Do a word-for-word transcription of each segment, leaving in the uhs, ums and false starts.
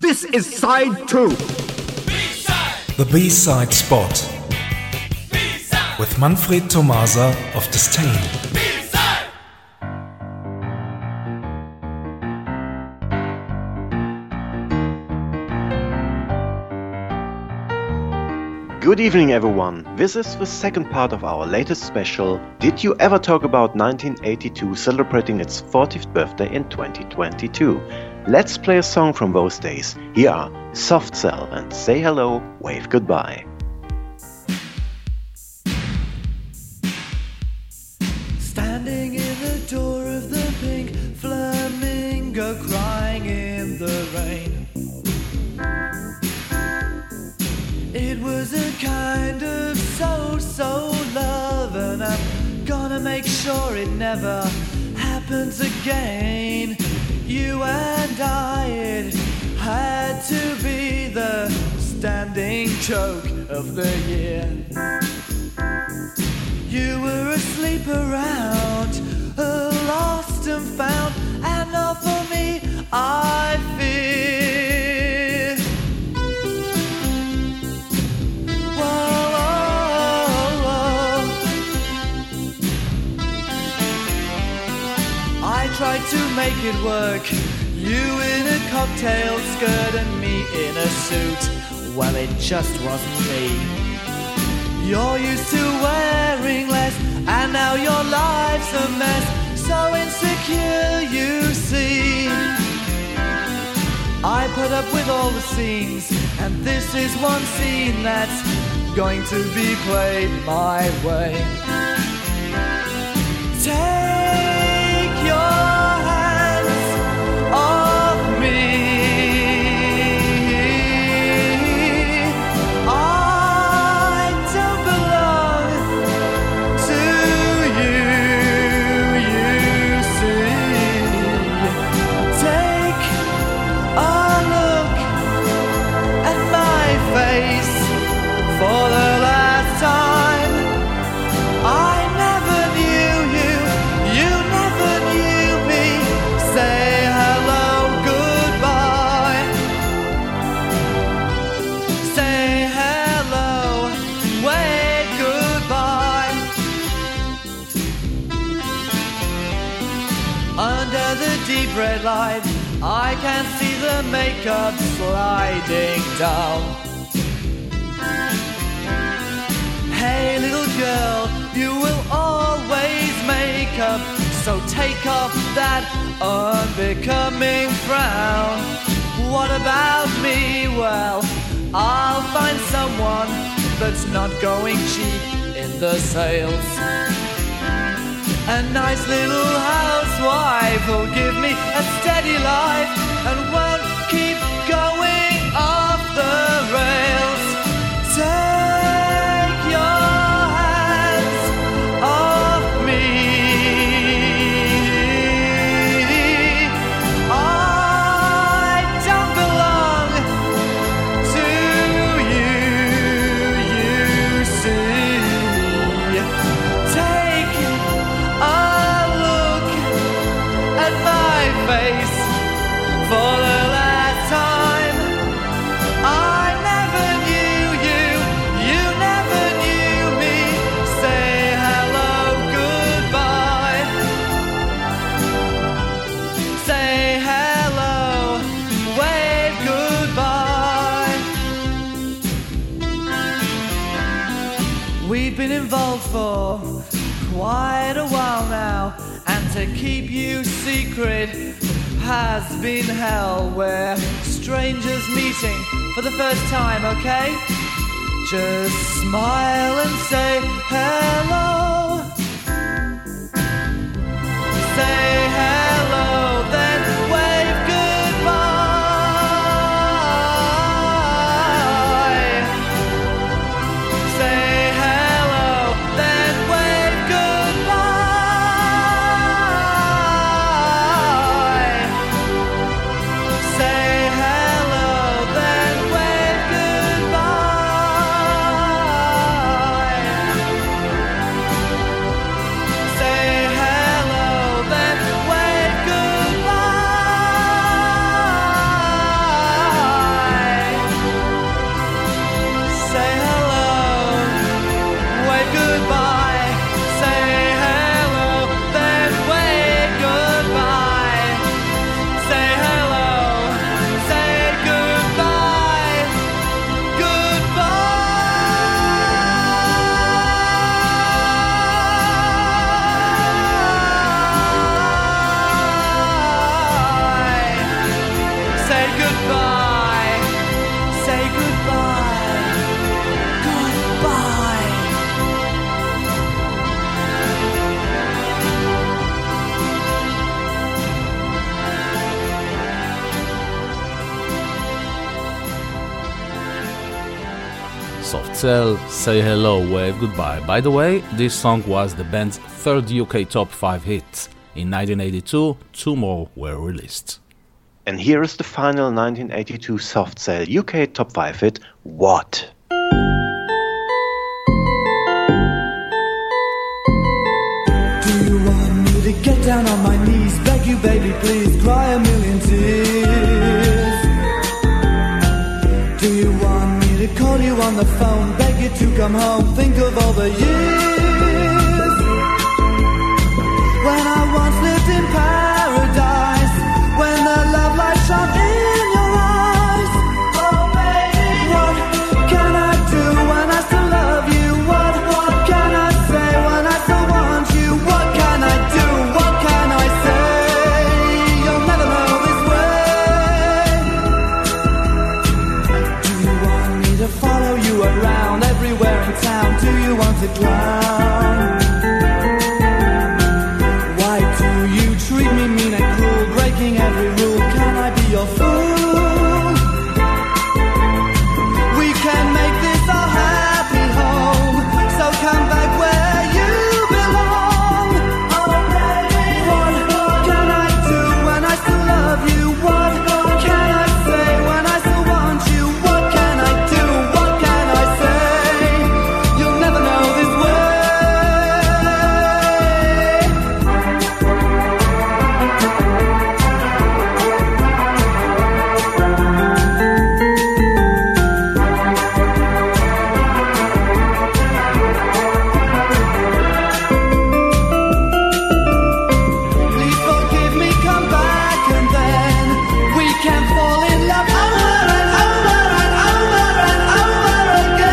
This is side two. B-side. The B-side spot. B-side. With Manfred Tomasa of Disdain. Good evening, everyone. This is the second part of our latest special. Did you ever talk about nineteen eighty-two celebrating its fortieth birthday in twenty twenty-two? Let's play a song from those days. Here are Soft Cell and Say Hello, Wave Goodbye. Standing in the door of the pink flamingo, crying in the rain. It was a kind of so-so love, and I'm gonna make sure it never happens again. You and I, it had to be the standing joke of the year. You were asleep around, lost and found, and not for me, I fear. Whoa, whoa, whoa. I tried to make it work, you in a cocktail skirt and me in a suit. Well, it just wasn't me. You're used to wearing less, and now your life's a mess. So insecure, you see. I put up with all the scenes, and this is one scene that's going to be played my way. Take your hands off me. Red light, I can see the makeup sliding down. Hey little girl, you will always make up, so take off that unbecoming frown. What about me? Well, I'll find someone that's not going cheap in the sales. A nice little housewife will give me a steady life and won't keep going off the rails. Take your hands off me. I don't belong to you, you see. Take a look at my face for the last time. I never knew you, you never knew me. Say hello, goodbye. Say hello, wave goodbye. We've been involved for quite a while now, and to keep you secret has been hell. We're strangers meeting for the first time, okay? Just smile and say hello. Say hello, then wave goodbye. Say hello, then wave goodbye. Say hello, then wave goodbye. Say hello, then wave Soft Cell, Say Hello, Wave Goodbye. By the way, this song was the band's third U K top five hit. In nineteen eighty-two, two more were released. And here is the final nineteen eighty-two Soft Cell U K top five hit, What? Do you want me to get down on my knees, beg you baby please, cry a million tears? Do you want me to call you on the phone, beg you to come home, think of all the years when I once lived in paradise, when the love light shone in your eyes. Oh baby, what can I do when I still love you? What, what can I say when I still want you? What can I do? What can I say? You'll never know this way. Do you want me to follow you around everywhere in town? Do you want to clown? Why do you treat me mean and cruel, breaking every rule? Can I be your fool? We can make this our happy home, so come back where you belong. Oh baby, what can I do when I still love you? What can I say when I still want you? What can I do? What can I say? You'll never know this way. Please forgive me, come back and then we can fall in love over and over and over and over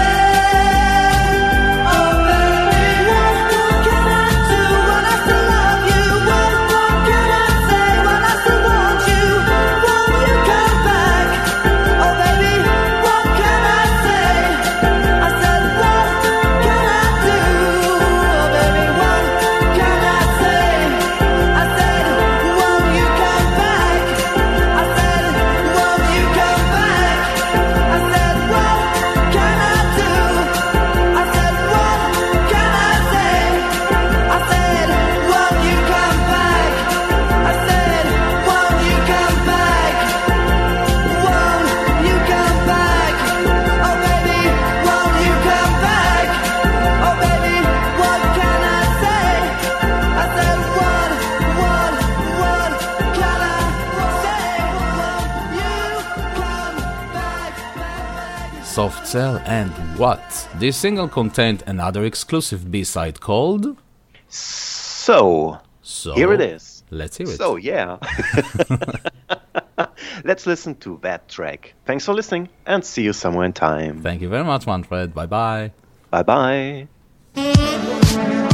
again. Oh baby, what can I do when I still love you? What can I say when I still want you? Won't you come back? Oh baby, what can I say? I said, what can I do? Oh baby, what can I say? I said, won't you come back? I said, won't you come back? I said, what can I do? I said, what can I say? I said, won't you come back? I said, won't you come back? Won't you come back? Oh baby, won't you come back? Oh baby, what can I say? I said, what, what, what can I say? Won't you come back, back, back? Soft Cell and What? This single contained another exclusive B-side called... So, So, here it is. Let's hear it. So, yeah. Let's listen to that track. Thanks for listening and see you somewhere in time. Thank you very much, Manfred. Bye-bye. Bye bye.